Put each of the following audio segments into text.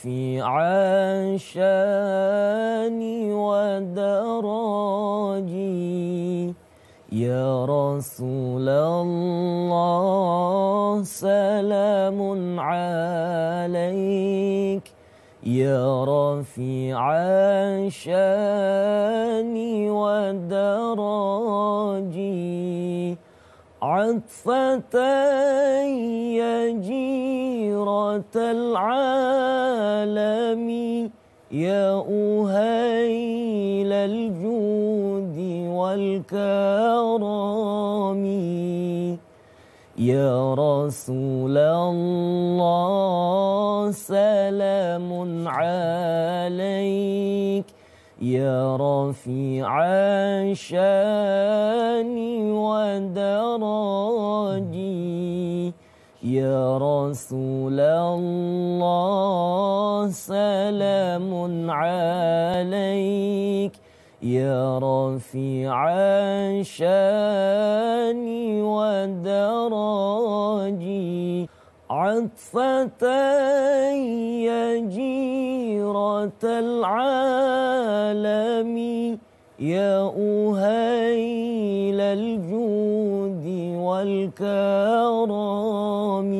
في عشاني ودراجي يا رسول الله سلام عليك يا رفيع شاني ودراجي عطفة يا جيرة العالم يا أهيل الجود والكرم يا رسول الله سلام عليك يا رفيع شاني ودراجي يا رسول الله سلام عليك يا رفيع شاني ودراجي عطفة يا جيرة العالم يا أهيل الجود والكرم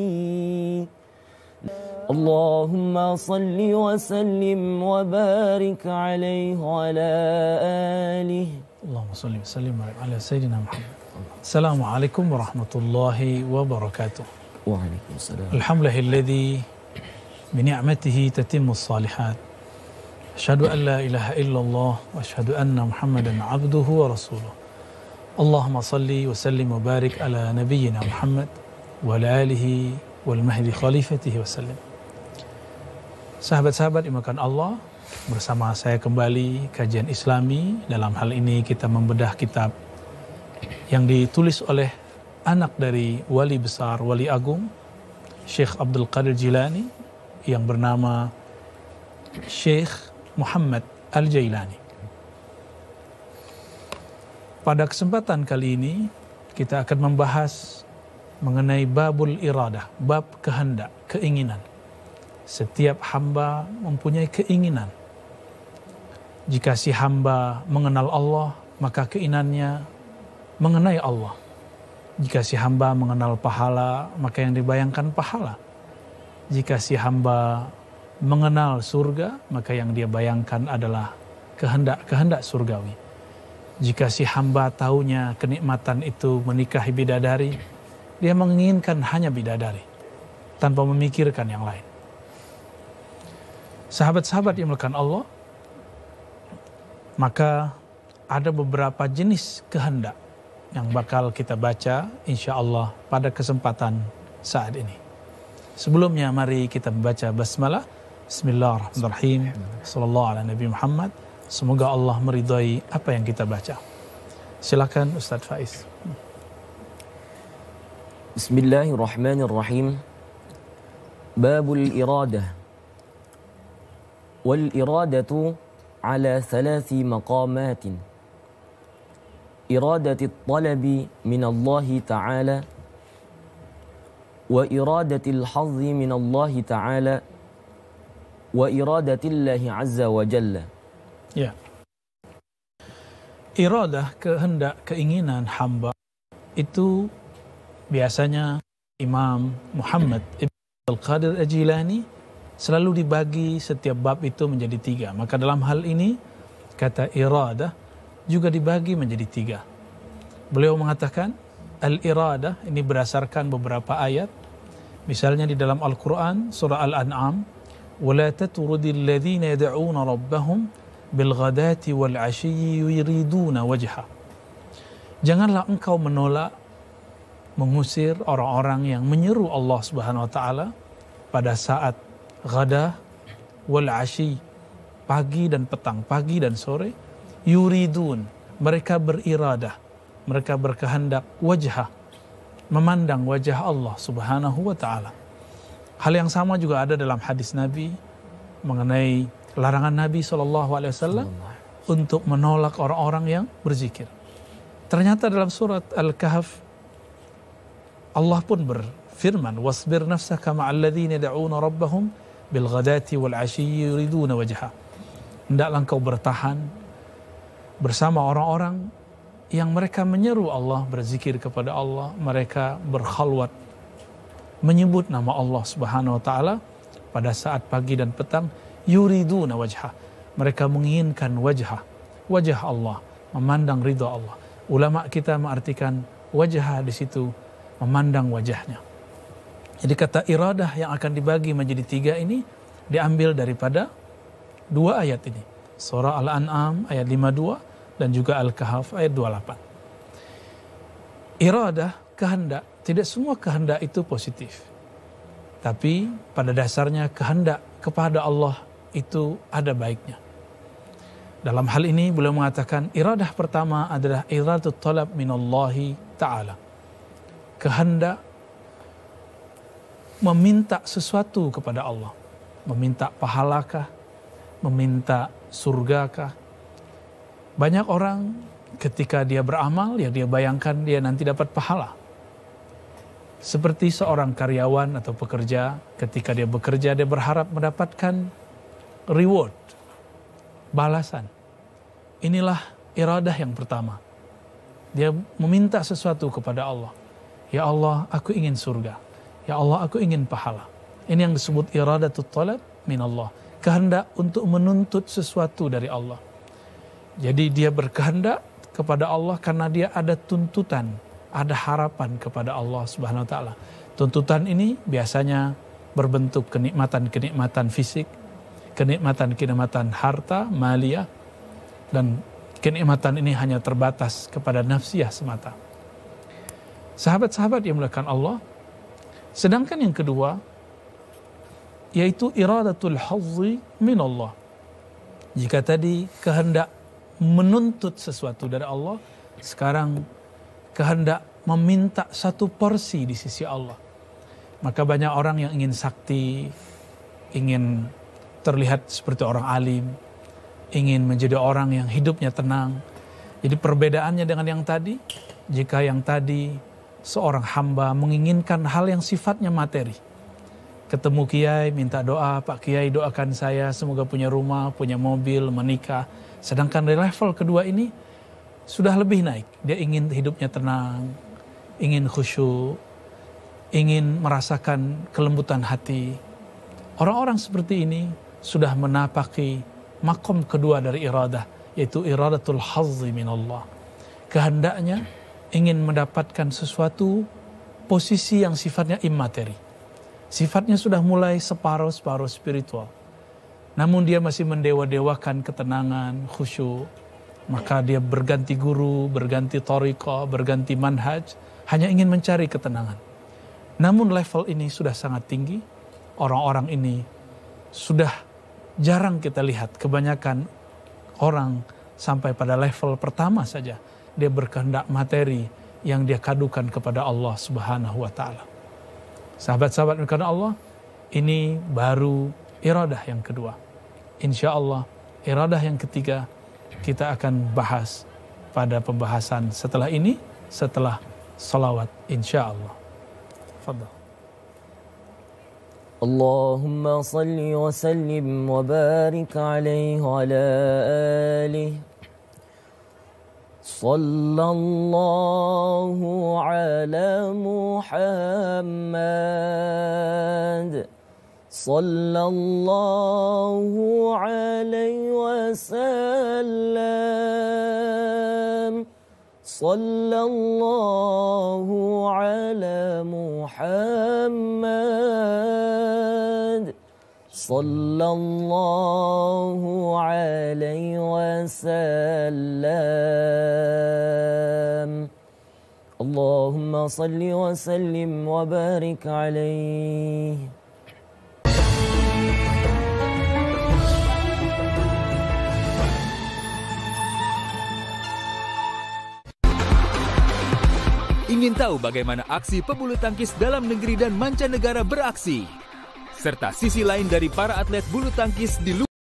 اللهم صل وسلم وبارك عليه وعلى آله اللهم صل وسلم على سيدنا محمد. Assalamualaikum warahmatullahi wabarakatuh. Waalaikumsalam. Alhamdulillahilladzi bini'matihi tatimmus salihat. Asyhadu an la ilaha illallah wa asyhadu anna Muhammadan abduhu wa rasuluh. Allahumma salli wa sallim wa barik ala nabiyyina Muhammad wa ala alihi wal mahdi khalifatihi wa sallim. Sahabat-sahabat dimakan Allah, bersama saya kembali kajian Islami. Dalam hal ini kita membedah kitab yang ditulis oleh anak dari wali besar, wali agung Syekh Abdul Qadir Jilani yang bernama Syekh Muhammad Al-Jailani. Pada kesempatan kali ini kita akan membahas mengenai babul iradah, bab kehendak, keinginan. Setiap hamba mempunyai keinginan. Jika si hamba mengenal Allah, maka keinginannya mengenai Allah. Jika si hamba mengenal pahala, maka yang dibayangkan pahala. Jika si hamba mengenal surga, maka yang dia bayangkan adalah kehendak surgawi. Jika si hamba taunya kenikmatan itu menikahi bidadari, dia menginginkan hanya bidadari, tanpa memikirkan yang lain. Sahabat-sahabat yang dimuliakan Allah, maka ada beberapa jenis kehendak yang bakal kita baca insya Allah pada kesempatan saat ini. Sebelumnya mari kita membaca basmalah. Bismillahirrahmanirrahim. Sallallahu ala Nabi Muhammad. Semoga Allah meridhai apa yang kita baca. Silakan Ustaz Faiz. Bismillahirrahmanirrahim. Babul iradah. Wal iradatu ala thalathi maqamatin. إرادة الطلب من الله تعالى وإرادة الحظ من الله تعالى وإرادة الله عز وجل. Ya. Iradah, kehendak, keinginan hamba itu biasanya Imam Muhammad Ibn Al-Qadir Al-Jilani selalu dibagi setiap bab itu menjadi 3. Maka dalam hal ini kata iradah juga dibagi menjadi 3. Beliau mengatakan al-iradah ini berdasarkan beberapa ayat. Misalnya di dalam Al-Quran surah Al-An'am, وَلَا تَتُرُدِ الَّذِينَ يَدْعُونَ رَبَّهُمْ بِالْغَدَاةِ وَالْعَشِيِّ يُرِيدُونَ وَجْهَهُ. Janganlah engkau menolak, mengusir orang-orang yang menyeru Allah Subhanahu wa taala pada saat ghadah wal ashi, pagi dan petang, pagi dan sore. Yuridun, mereka beriradah, mereka berkehendak wajhah, memandang wajah Allah Subhanahu wa taala. Hal yang sama juga ada dalam hadis Nabi mengenai larangan Nabi SAW untuk menolak orang-orang yang berzikir. Ternyata dalam surat Al-Kahf Allah pun berfirman, wasbir nafsaka ma'al ladzina yad'una rabbahum bil ghadati wal 'ashyi yuriduna wajha. Hendaklah engkau bertahan bersama orang-orang yang mereka menyeru Allah, berzikir kepada Allah, mereka berkhalwat menyebut nama Allah Subhanahu wa taala pada saat pagi dan petang, yuriduna wajha. Mereka menginginkan wajah Allah, memandang ridha Allah. Ulama kita mengartikan wajah di situ memandang wajahnya. Jadi kata iradah yang akan dibagi menjadi 3 ini diambil daripada 2 ayat ini. Surah Al-An'am ayat 52 dan juga Al-Kahf ayat 28. Iradah, kehendak, tidak semua kehendak itu positif. Tapi pada dasarnya kehendak kepada Allah itu ada baiknya. Dalam hal ini beliau mengatakan iradah pertama adalah iradatu talab minallahi ta'ala. Kehendak meminta sesuatu kepada Allah. Meminta pahalakah, meminta surgakah. Banyak orang ketika dia beramal, ya dia bayangkan dia nanti dapat pahala. Seperti seorang karyawan atau pekerja, ketika dia bekerja dia berharap mendapatkan reward, balasan. Inilah iradah yang pertama. Dia meminta sesuatu kepada Allah. Ya Allah, aku ingin surga. Ya Allah, aku ingin pahala. Ini yang disebut iradatut talab minallah. Kehendak untuk menuntut sesuatu dari Allah. Jadi dia berkehendak kepada Allah karena dia ada tuntutan, ada harapan kepada Allah Subhanahu wa taala. Tuntutan ini biasanya berbentuk kenikmatan-kenikmatan fisik, kenikmatan-kenikmatan harta, maliyah, dan kenikmatan ini hanya terbatas kepada nafsiyah semata. Sahabat-sahabat yang dimuliakan Allah, sedangkan yang kedua yaitu iradatul hazzi minallah. Jika tadi kehendak menuntut sesuatu dari Allah, sekarang kehendak meminta satu porsi di sisi Allah. Maka banyak orang yang ingin sakti, ingin terlihat seperti orang alim, ingin menjadi orang yang hidupnya tenang. Jadi perbedaannya dengan yang tadi, jika yang tadi seorang hamba menginginkan hal yang sifatnya materi, ketemu kiai minta doa, Pak Kiai doakan saya semoga punya rumah, punya mobil, menikah. Sedangkan di level kedua ini sudah lebih naik. Dia ingin hidupnya tenang, ingin khusyuk, ingin merasakan kelembutan hati. Orang-orang seperti ini sudah menapaki makom kedua dari iradah, yaitu iradatul hazzi minallah. Kehendaknya ingin mendapatkan sesuatu posisi yang sifatnya immateri. Sifatnya sudah mulai separuh-separuh spiritual. Namun dia masih mendewa-dewakan ketenangan, khusyuk. Maka dia berganti guru, berganti thariqah, berganti manhaj, hanya ingin mencari ketenangan. Namun level ini sudah sangat tinggi. Orang-orang ini sudah jarang kita lihat. Kebanyakan orang sampai pada level pertama saja. Dia berkehendak materi yang dia kadukan kepada Allah Subhanahu wa ta'ala. Sahabat-sahabat karena Allah, ini baru iradah yang kedua. Insya Allah iradah yang ketiga kita akan bahas pada pembahasan setelah ini, setelah salawat insya Allah. Fadhal. Allahumma salli wa sallim wa barik alaihi wa ala alihi. Sallallahu ala Muhammad. Sallallahu alaihi wasallam. Sallallahu ala Muhammad. Sallallahu alaihi wasallam. Allahumma salli wa sallim wa barik alaihi. Ingin tahu bagaimana aksi pebulu tangkis dalam negeri dan mancanegara beraksi? Serta sisi lain dari para atlet bulu tangkis di luar